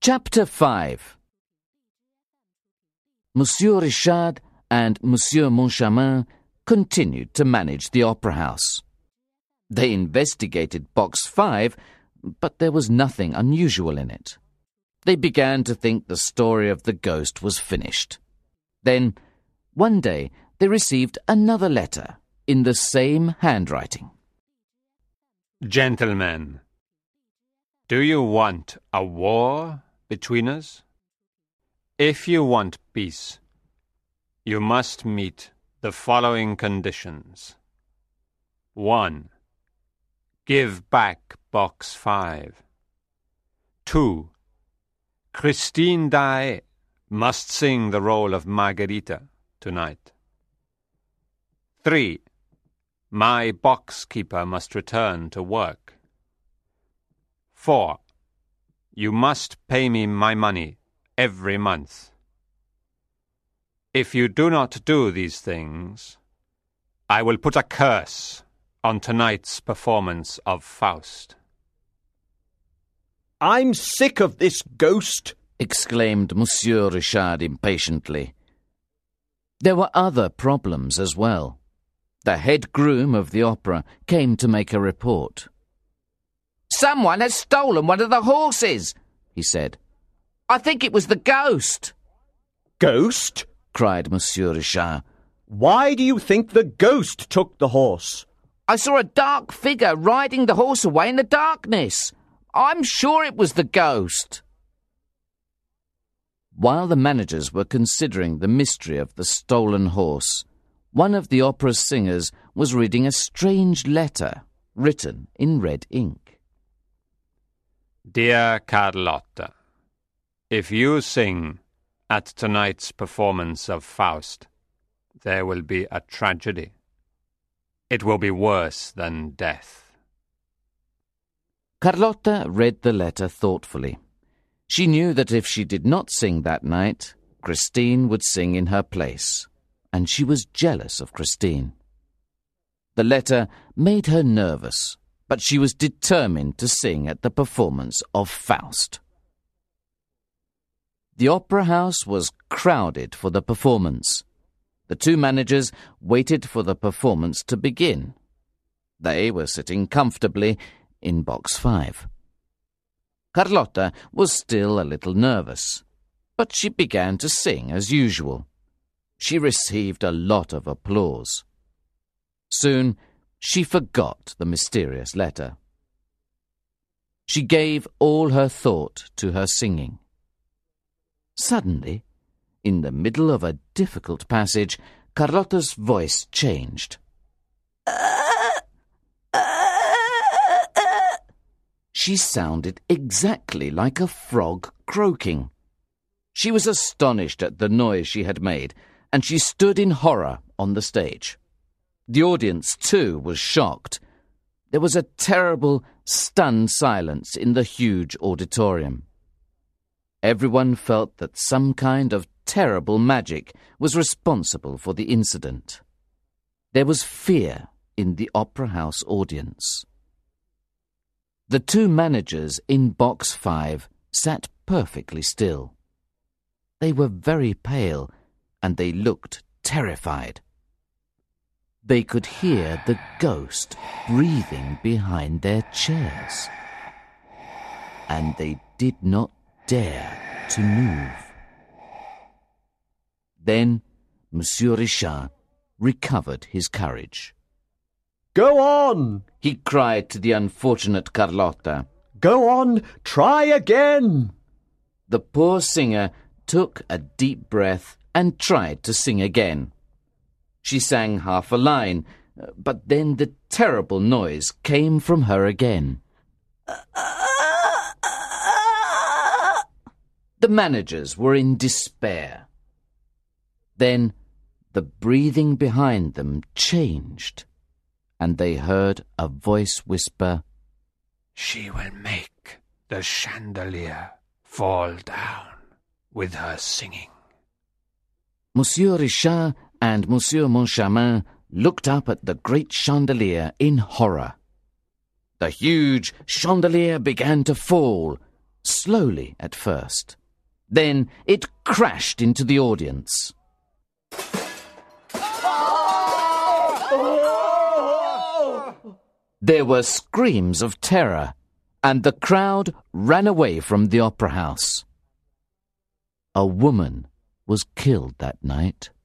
Chapter 5. Monsieur Richard and Monsieur Moncharmin continued to manage the opera house. They investigated Box 5, but there was nothing unusual in it. They began to think the story of the ghost was finished. Then, one day, they received another letter in the same handwriting. Gentlemen, do you want a war between us? If you want peace, you must meet the following conditions. 1. Give back Box 5. 2. Christine Daae must sing the role of Margarita tonight. 3. My box keeper must return to work. 4. You must pay me my money every month. If you do not do these things, I will put a curse on tonight's performance of Faust. I'm sick of this ghost, exclaimed Monsieur Richard impatiently. There were other problems as well. The head groom of the opera came to make a report. "Someone has stolen one of the horses," he said. "I think it was the ghost." Ghost? Cried Monsieur Richard. Why do you think the ghost took the horse? "I saw a dark figure riding the horse away in the darkness. I'm sure it was the ghost." While the managers were considering the mystery of the stolen horse, one of the opera's singers was reading a strange letter written in red ink. Dear Carlotta, if you sing at tonight's performance of Faust, there will be a tragedy. It will be worse than death. Carlotta read the letter thoughtfully. She knew that if she did not sing that night, Christine would sing in her place, and she was jealous of Christine. The letter made her nervous, but she was determined to sing at the performance of Faust. The opera house was crowded for the performance. The two managers waited for the performance to begin. They were sitting comfortably in Box 5. Carlotta was still a little nervous, but she began to sing as usual. She received a lot of applause. Soon, she forgot the mysterious letter. She gave all her thought to her singing. Suddenly, in the middle of a difficult passage, Carlotta's voice changed. She sounded exactly like a frog croaking. She was astonished at the noise she had made, and she stood in horror on the stage. The audience, too, was shocked. There was a terrible, stunned silence in the huge auditorium. Everyone felt that some kind of terrible magic was responsible for the incident. There was fear in the opera house audience. The two managers in Box 5 sat perfectly still. They were very pale, and they looked terrified. They could hear the ghost breathing behind their chairs. And they did not dare to move. Then Monsieur Richard recovered his courage. Go on, he cried to the unfortunate Carlotta. Go on, try again. The poor singer took a deep breath and tried to sing again. She sang half a line, but then the terrible noise came from her again. The managers were in despair. Then the breathing behind them changed, and they heard a voice whisper, She will make the chandelier fall down with her singing. Monsieur Richard and Monsieur Moncharmin looked up at the great chandelier in horror. The huge chandelier began to fall, slowly at first. Then it crashed into the audience. There were screams of terror, and the crowd ran away from the opera house. A woman was killed that night.